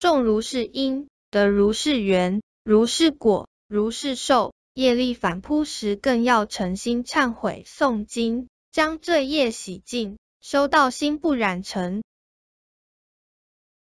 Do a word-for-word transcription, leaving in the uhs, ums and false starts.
种如是因，得如是缘，如是果，如是受。业力反扑时，更要诚心忏悔诵经，将这业洗净，修道心不染尘。